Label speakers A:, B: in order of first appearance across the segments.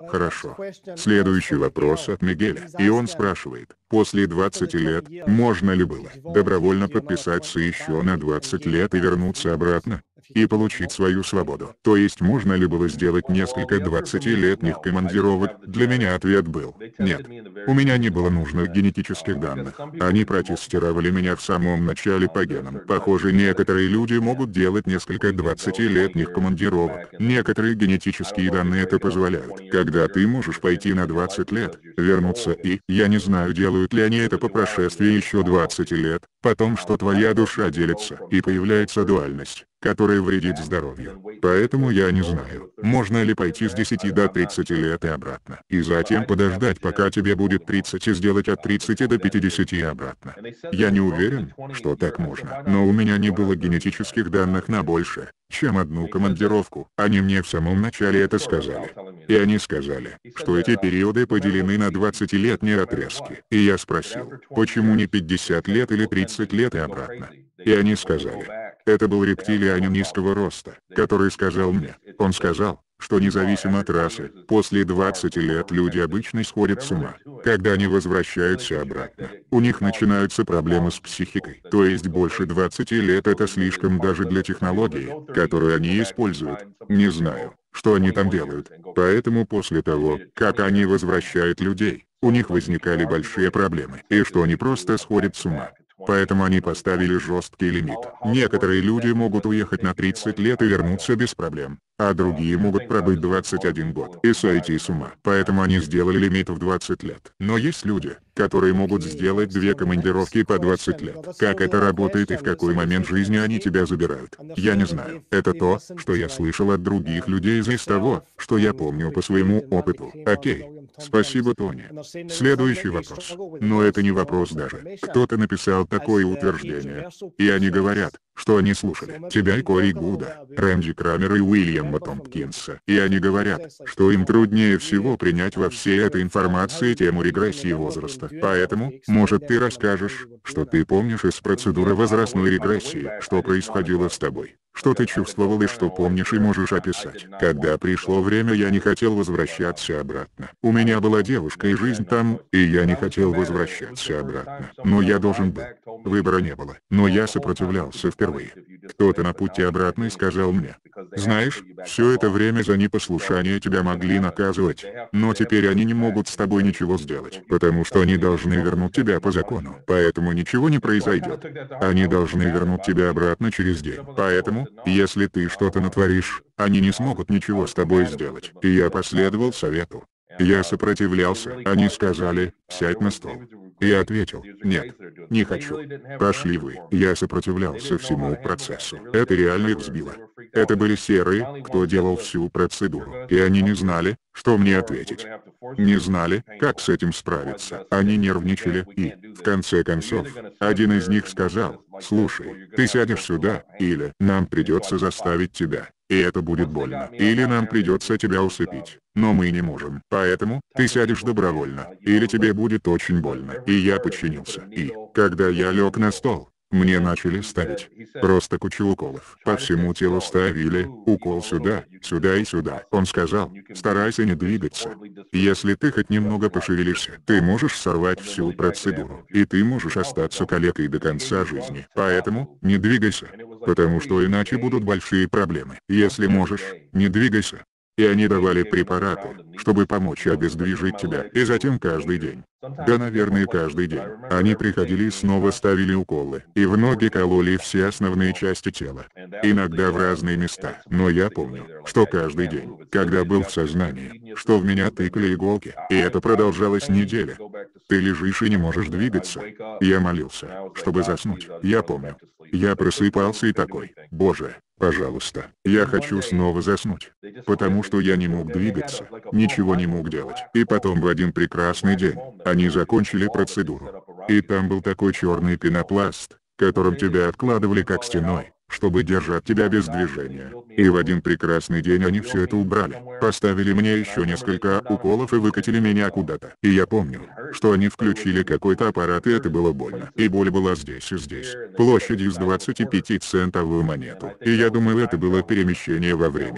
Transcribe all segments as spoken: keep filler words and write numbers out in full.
A: Хорошо. Следующий вопрос от Мигеля, и он спрашивает, после двадцати лет, можно ли было добровольно подписаться еще на двадцать лет и вернуться обратно? И получить свою свободу. То есть можно ли было сделать несколько двадцатилетних командировок? Для меня ответ был «нет». У меня не было нужных генетических данных. Они протестировали меня в самом начале по генам. Похоже, некоторые люди могут делать несколько двадцатилетних командировок. Некоторые генетические данные это позволяют. Когда ты можешь пойти на двадцать лет, вернуться и, я не знаю, делают ли они это по прошествии еще двадцати лет, потом что твоя душа делится и появляется дуальность, которая вредит здоровью. Поэтому я не знаю, можно ли пойти с десяти до тридцати лет и обратно. И затем подождать, пока тебе будет тридцать, и сделать от тридцати до пятидесяти и обратно. Я не уверен, что так можно, но у меня не было генетических данных на больше, чем одну командировку. Они мне в самом начале это сказали. И они сказали, что эти периоды поделены на двадцатилетние отрезки. И я спросил, почему не пятьдесят лет или тридцать лет и обратно? И они сказали, это был рептилианин низкого роста, который сказал мне, он сказал, что независимо от расы, после двадцати лет люди обычно сходят с ума. Когда они возвращаются обратно, у них начинаются проблемы с психикой. То есть больше двадцати лет это слишком даже для технологии, которую они используют. Не знаю, что они там делают. Поэтому после того, как они возвращают людей, у них возникали большие проблемы. И что они просто сходят с ума. Поэтому они поставили жесткий лимит. Некоторые люди могут уехать на тридцать лет и вернуться без проблем, а другие могут пробыть двадцать один год и сойти с ума. Поэтому они сделали лимит в двадцать лет. Но есть люди, которые могут сделать две командировки по двадцать лет. Как это работает и в какой момент жизни они тебя забирают, я не знаю. Это то, что я слышал от других людей из того, что я помню по своему опыту. Окей. Спасибо, Тони. Следующий вопрос. Но это не вопрос даже. Кто-то написал такое утверждение. И они говорят, что они слушали тебя и Кори Гуда, Рэнди Крамера и Уильяма Томпкинса. И они говорят, что им труднее всего принять во всей этой информации тему регрессии возраста. Поэтому, может, ты расскажешь, что ты помнишь из процедуры возрастной регрессии, что происходило с тобой, что ты чувствовал и что помнишь и можешь описать. Когда пришло время, я не хотел возвращаться обратно. У меня была девушка и жизнь там, и я не хотел возвращаться обратно. Но я должен был. Выбора не было. Но я сопротивлялся впервые. Кто-то на пути обратно сказал мне, знаешь, все это время за непослушание тебя могли наказывать, но теперь они не могут с тобой ничего сделать, потому что они должны вернуть тебя по закону. Поэтому ничего не произойдет. Они должны вернуть тебя обратно через день. Поэтому, если ты что-то натворишь, они не смогут ничего с тобой сделать. И я последовал совету. Я сопротивлялся. Они сказали, сядь на стол. Я ответил, нет, не хочу. Пошли вы. Я сопротивлялся всему процессу. Это реально их сбило. Это были серые, кто делал всю процедуру. И они не знали, что мне ответить. Не знали, как с этим справиться. Они нервничали и, в конце концов, один из них сказал, слушай, ты сядешь сюда, или нам придется заставить тебя. И это будет больно. Или нам придется тебя усыпить. Но мы не можем. Поэтому, ты сядешь добровольно. Или тебе будет очень больно. И я подчинился. И, когда я лег на стол, мне начали ставить просто кучу уколов. По всему телу ставили, укол сюда, сюда и сюда. Он сказал, старайся не двигаться. Если ты хоть немного пошевелишься, ты можешь сорвать всю процедуру. И ты можешь остаться калекой до конца жизни. Поэтому, не двигайся. Потому что иначе будут большие проблемы. Если можешь, не двигайся. И они давали препараты, чтобы помочь обездвижить тебя. И затем каждый день. Да, наверное, каждый день. Они приходили и снова ставили уколы. И в ноги кололи все основные части тела. Иногда в разные места. Но я помню, что каждый день, когда был в сознании, что в меня тыкали иголки. И это продолжалось неделю. Ты лежишь и не можешь двигаться. Я молился, чтобы заснуть. Я помню. Я просыпался и такой, боже, пожалуйста, я хочу снова заснуть. Потому что я не мог двигаться, ничего не мог делать. И потом в один прекрасный день, они закончили процедуру. И там был такой черный пенопласт, которым тебя откладывали как стеной, чтобы держать тебя без движения. И в один прекрасный день они все это убрали. Поставили мне еще несколько уколов и выкатили меня куда-то. И я помню, что они включили какой-то аппарат, и это было больно. И боль была здесь и здесь. Площадью с двадцатипятицентовую монету. И я думаю, это было перемещение во времени.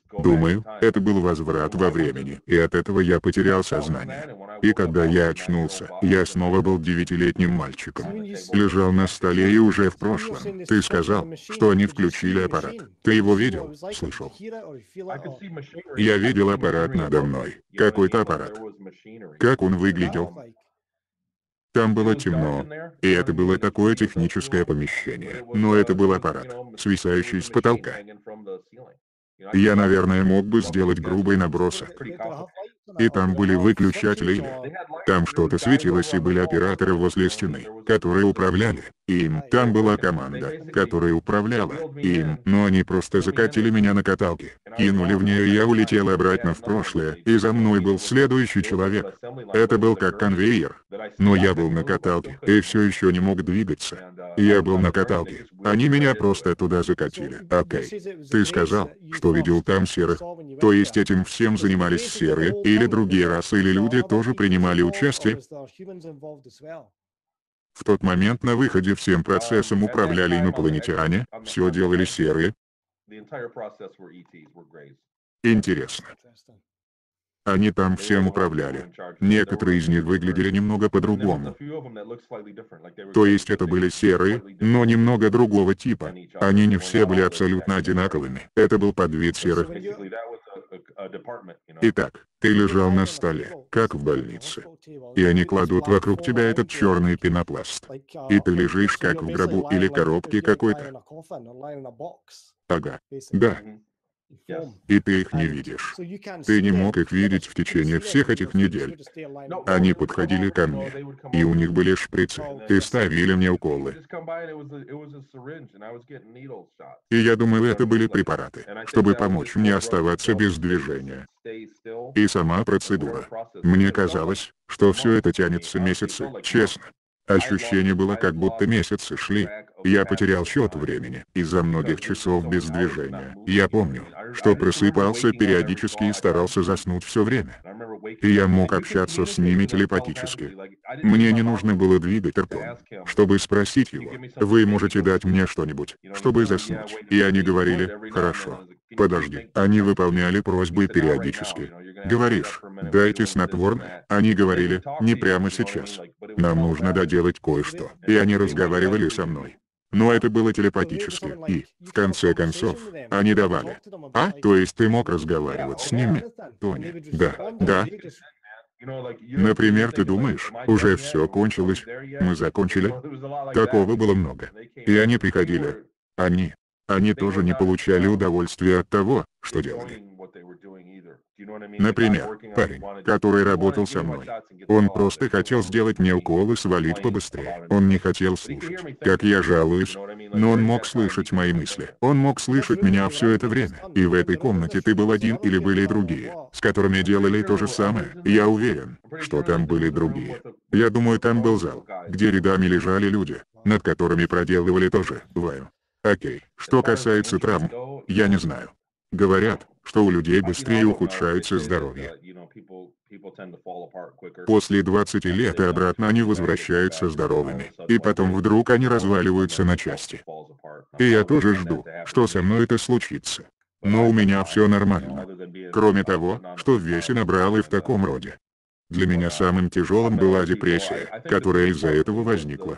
A: Думаю, это был возврат во времени, и от этого я потерял сознание. И когда я очнулся, я снова был девятилетним мальчиком. Лежал на столе и уже в прошлом. Ты сказал, что они включили аппарат. Ты его видел, слышал? Я видел аппарат надо мной. Какой-то аппарат. Как он выглядел? Там было темно, и это было такое техническое помещение, но это был аппарат, свисающий с потолка. Я, наверное, мог бы сделать грубый набросок. И там были выключатели или... Там что-то светилось и были операторы возле стены, которые управляли им. Там была команда, которая управляла им, но они просто закатили меня на каталке, кинули в нее, и я улетел обратно в прошлое, и за мной был следующий человек. Это был как конвейер. Но я был на каталке, и все еще не мог двигаться. Я был на каталке. Они меня просто туда закатили. Окей. Ты сказал, что видел там серых. То есть этим всем занимались серые, или другие расы, или люди тоже принимали участие? В тот момент на выходе всем процессом управляли инопланетяне, все делали серые. Интересно. Они там всем управляли. Некоторые из них выглядели немного по-другому. То есть это были серые, но немного другого типа. Они не все были абсолютно одинаковыми. Это был подвид серых. Итак, ты лежал на столе, как в больнице. И они кладут вокруг тебя этот черный пенопласт. И ты лежишь как в гробу или коробке какой-то. Ага. Да. И ты их не видишь. Ты не мог их видеть в течение всех этих недель. Они подходили ко мне, и у них были шприцы, и ставили мне уколы. И я думаю, это были препараты, чтобы помочь мне оставаться без движения. И сама процедура. Мне казалось, что все это тянется месяцы, честно. Ощущение было, как будто месяцы шли. Я потерял счет времени из-за многих часов без движения. Я помню, что просыпался периодически и старался заснуть все время. И я мог общаться с ними телепатически. Мне не нужно было двигать ртом, чтобы спросить его: «Вы можете дать мне что-нибудь, чтобы заснуть?» И они говорили: «Хорошо. Подожди». Они выполняли просьбы периодически. Говоришь: «Дайте снотворное». Они говорили: «Не прямо сейчас. Нам нужно доделать кое-что». И они разговаривали со мной. Но это было телепатически, и, в конце концов, они давали. А, то есть ты мог разговаривать с ними? Тони. Да, да. Например, ты думаешь, уже все кончилось, мы закончили? Такого было много. И они приходили. Они. Они тоже не получали удовольствия от того, что делали. Например, парень, который работал со мной. Он просто хотел сделать мне укол и свалить побыстрее. Он не хотел слушать, как я жалуюсь, но он мог слышать мои мысли. Он мог слышать меня все это время. И в этой комнате ты был один или были и другие, с которыми делали то же самое. Я уверен, что там были другие. Я думаю, там был зал, где рядами лежали люди, над которыми проделывали то же. Бываю. Окей, что касается травм, я не знаю. Говорят, что у людей быстрее ухудшается здоровье. После двадцати лет и обратно они возвращаются здоровыми, и потом вдруг они разваливаются на части. И я тоже жду, что со мной это случится. Но у меня все нормально. Кроме того, что в весе набрал и в таком роде. Для меня самым тяжелым была депрессия, которая из-за этого возникла.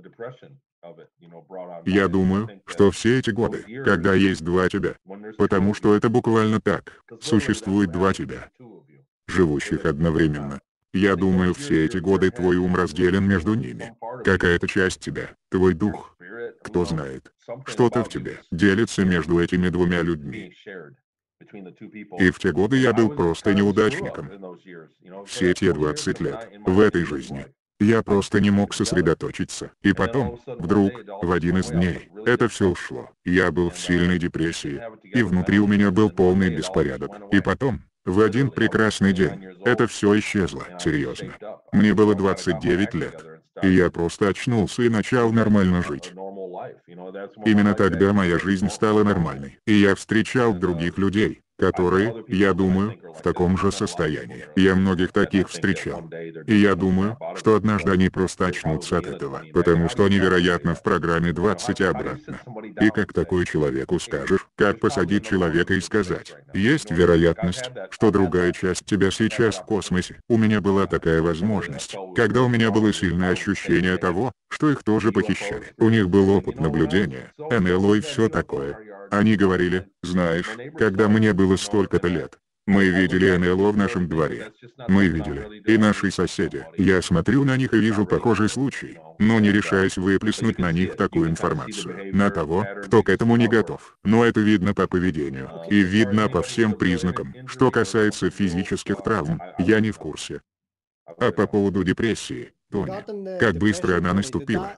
A: Я думаю, что все эти годы, когда есть два тебя, потому что это буквально так, существует два тебя, живущих одновременно. Я думаю, все эти годы твой ум разделен между ними. Какая-то часть тебя, твой дух, кто знает, что-то в тебе делится между этими двумя людьми. И в те годы я был просто неудачником. Все те двадцать лет, в этой жизни. Я просто не мог сосредоточиться. И потом, вдруг, в один из дней, это все ушло. Я был в сильной депрессии. И внутри у меня был полный беспорядок. И потом, в один прекрасный день, это все исчезло. Серьезно. Мне было двадцать девять лет. И я просто очнулся и начал нормально жить. Именно тогда моя жизнь стала нормальной. И я встречал других людей, которые, я думаю, в таком же состоянии. Я многих таких встречал. И я думаю, что однажды они просто очнутся от этого, потому что они, вероятно, в программе двадцать и обратно. И как такой человеку скажешь, как посадить человека и сказать, есть вероятность, что другая часть тебя сейчас в космосе. У меня была такая возможность, когда у меня было сильное ощущение того, что их тоже похищали. У них был опыт наблюдения, эн эл о и все такое. Они говорили, знаешь, когда мне было столько-то лет, мы видели эн эл о в нашем дворе. Мы видели, и наши соседи. Я смотрю на них и вижу похожий случай, но не решаюсь выплеснуть на них такую информацию. На того, кто к этому не готов. Но это видно по поведению. И видно по всем признакам. Что касается физических травм, я не в курсе. А по поводу депрессии, Тони, как быстро она наступила?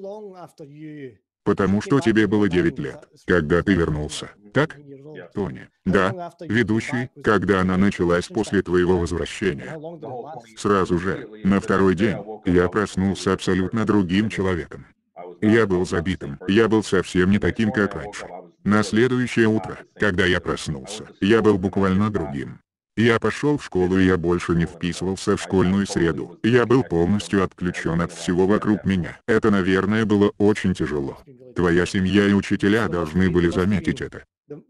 A: Потому что тебе было девять лет, когда ты вернулся, так? Тони. Да, ведущий, когда она началась после твоего возвращения. Сразу же, на второй день, я проснулся абсолютно другим человеком. Я был забитым, я был совсем не таким, как раньше. На следующее утро, когда я проснулся, я был буквально другим. Я пошел в школу и я больше не вписывался в школьную среду. Я был полностью отключен от всего вокруг меня. Это, наверное, было очень тяжело. Твоя семья и учителя должны были заметить это.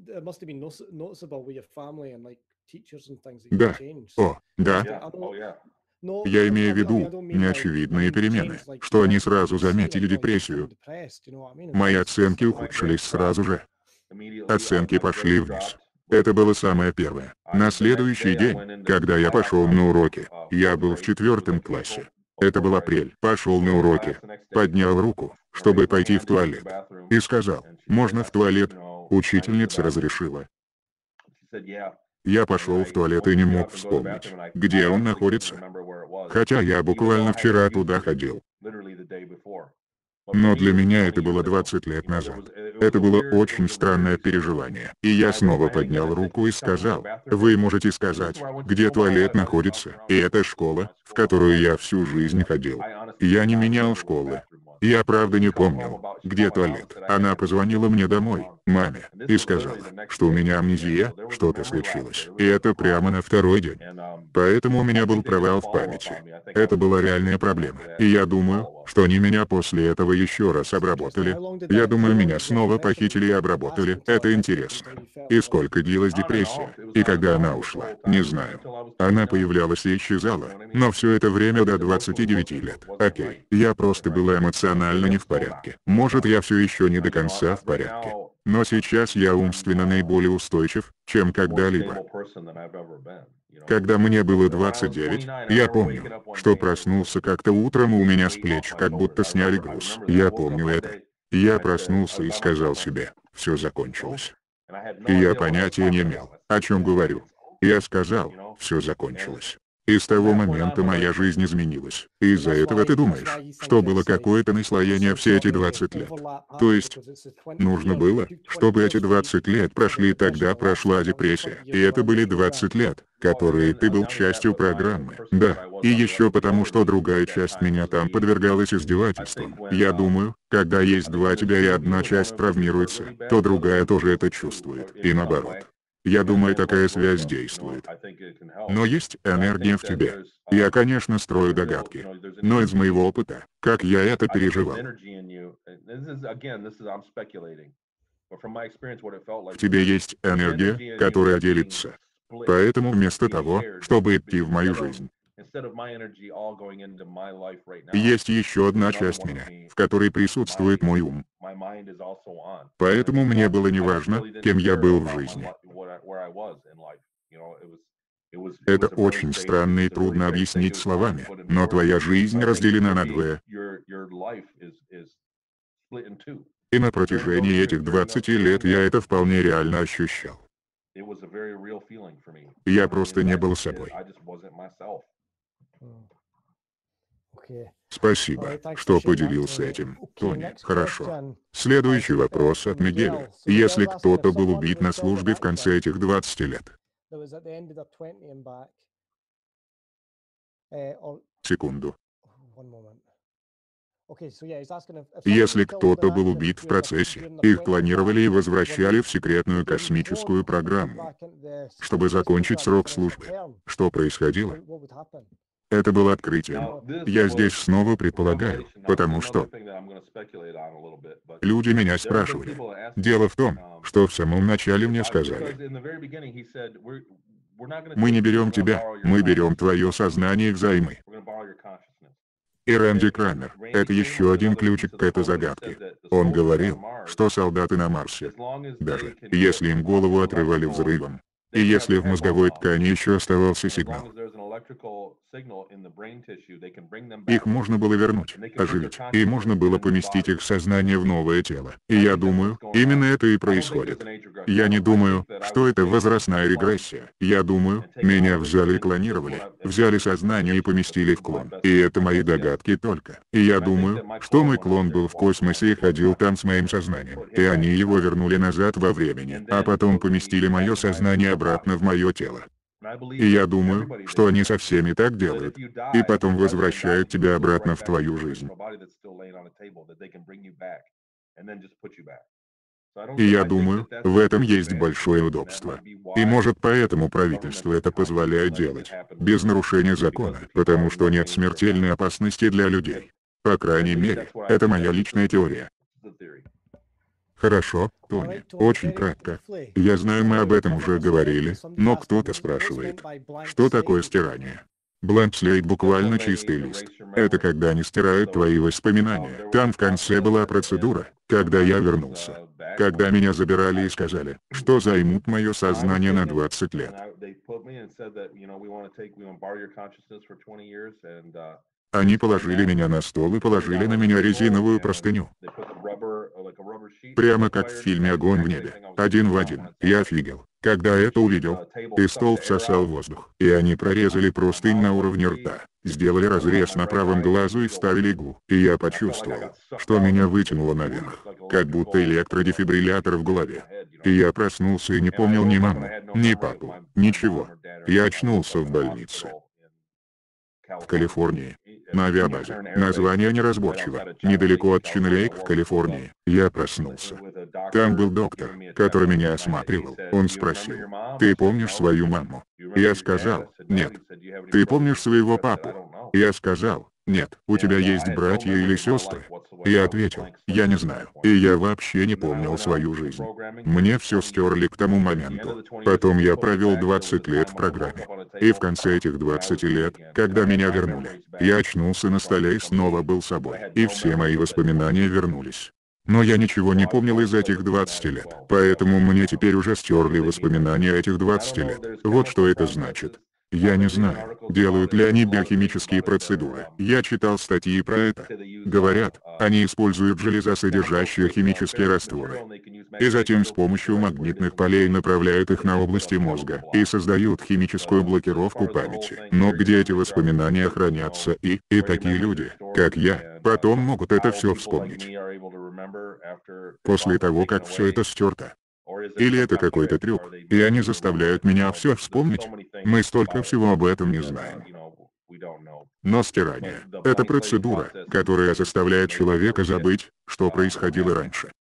A: Да. О, да. Я имею в виду неочевидные перемены, что они сразу заметили депрессию. Мои оценки ухудшились сразу же. Оценки пошли вниз. Это было самое первое. На следующий день, когда я пошел на уроки, я был в четвертом классе. Это был апрель. Пошел на уроки, поднял руку, чтобы пойти в туалет. И сказал, можно в туалет? Учительница разрешила. Я пошел в туалет и не мог вспомнить, где он находится. Хотя я буквально вчера туда ходил. Но для меня это было двадцать лет назад. Это было очень странное переживание. И я снова поднял руку и сказал, вы можете сказать, где туалет находится, и это школа, в которую я всю жизнь ходил. Я не менял школы. Я правда не помнил, где туалет. Она позвонила мне домой, маме, и сказала, что у меня амнезия, что-то случилось. И это прямо на второй день. Поэтому у меня был провал в памяти. Это была реальная проблема. И я думаю, что они меня после этого еще раз обработали. Я думаю, меня снова похитили и обработали. Это интересно. И сколько длилась депрессия? И когда она ушла? Не знаю. Она появлялась и исчезала. Но все это время до двадцати девяти лет. Окей. Я просто была эмоционально не в порядке. Может, я все еще не до конца в порядке. Но сейчас я умственно наиболее устойчив, чем когда-либо. Когда мне было двадцать девять, я помню, что проснулся как-то утром и у меня с плеч как будто сняли груз. Я помню это. Я проснулся и сказал себе, все закончилось. И я понятия не имел, о чем говорю. Я сказал, все закончилось. И с того момента моя жизнь изменилась. Из-за этого ты думаешь, что было какое-то наслоение все эти двадцать лет. То есть, нужно было, чтобы эти двадцать лет прошли, тогда прошла депрессия. И это были двадцать лет, которые ты был частью программы. Да, и еще потому, что другая часть меня там подвергалась издевательствам. Я думаю, когда есть два тебя и одна часть травмируется, то другая тоже это чувствует. И наоборот. Я думаю, такая связь действует. Но есть энергия в тебе. Я, конечно, строю догадки. Но из моего опыта, как я это переживал. В тебе есть энергия, которая делится. Поэтому вместо того, чтобы идти в мою жизнь, есть еще одна часть меня, в которой присутствует мой ум. Поэтому мне было неважно, кем я был в жизни. Это очень странно и трудно объяснить словами, но твоя жизнь разделена на двое. И на протяжении этих двадцати лет я это вполне реально ощущал. Я просто не был собой. Спасибо, что поделился этим, Тони. Хорошо. Следующий вопрос от Мигеля. Если кто-то был убит на службе в конце этих двадцати лет. Секунду. Если кто-то был убит в процессе, их клонировали и возвращали в секретную космическую программу, чтобы закончить срок службы. Что происходило? Это было открытием. Я здесь снова предполагаю, потому что люди меня спрашивали. Дело в том, что в самом начале мне сказали: мы не берем тебя, мы берем твое сознание взаймы. И Рэнди Крамер — это еще один ключик к этой загадке. Он говорил, что солдаты на Марсе, даже если им голову отрывали взрывом, и если в мозговой ткани еще оставался сигнал, их можно было вернуть, оживить, и можно было поместить их сознание в новое тело. И я думаю, именно это и происходит. Я не думаю, что это возрастная регрессия. Я думаю, меня взяли и клонировали, взяли сознание и поместили в клон. И это мои догадки только. И я думаю, что мой клон был в космосе и ходил там с моим сознанием. И они его вернули назад во времени, а потом поместили мое сознание обратно в мое тело. И я думаю, что они со всеми так делают, и потом возвращают тебя обратно в твою жизнь. И я думаю, в этом есть большое удобство. И может поэтому правительство это позволяет делать, без нарушения закона, потому что нет смертельной опасности для людей. По крайней мере, это моя личная теория. Хорошо, Тони, очень кратко. Я знаю, мы об этом уже говорили, но кто-то спрашивает, что такое стирание? Blank slate буквально чистый лист. Это когда они стирают твои воспоминания. Там в конце была процедура, когда я вернулся. Когда меня забирали и сказали, что займут мое сознание на двадцать лет. Они положили меня на стол и положили на меня резиновую простыню. Прямо как в фильме «Огонь в небе». Один в один. Я офигел, когда это увидел. И стол всосал воздух. И они прорезали простынь на уровне рта, сделали разрез на правом глазу и вставили иглу. И я почувствовал, что меня вытянуло наверх, как будто электродефибриллятор в голове. И я проснулся и не помнил ни маму, ни папу, ничего. Я очнулся в больнице. В Калифорнии. На авиабазе. Название неразборчиво. Недалеко от Чен-Лейк в Калифорнии. Я проснулся. Там был доктор, который меня осматривал. Он спросил: «Ты помнишь свою маму?» Я сказал: «Нет». «Ты помнишь своего папу?» Я сказал: «Нет». «У тебя есть братья или сестры?» Я ответил: «Я не знаю». И я вообще не помнил свою жизнь. Мне все стерли к тому моменту. Потом я провел двадцать лет в программе. И в конце этих двадцати лет, когда меня вернули, я очнулся на столе и снова был собой. И все мои воспоминания вернулись. Но я ничего не помнил из этих двадцати лет. Поэтому мне теперь уже стерли воспоминания этих двадцати лет. Вот что это значит. Я не знаю, делают ли они биохимические процедуры. Я читал статьи про это. Говорят, они используют железосодержащие химические растворы. И затем с помощью магнитных полей направляют их на области мозга и создают химическую блокировку памяти. Но где эти воспоминания хранятся и, и такие люди, как я, потом могут это все вспомнить. После того, как все это стерто. Или это какой-то трюк, и они заставляют меня все вспомнить? Мы столько всего об этом не знаем. Но стирание — это процедура, которая заставляет человека забыть, что происходило раньше.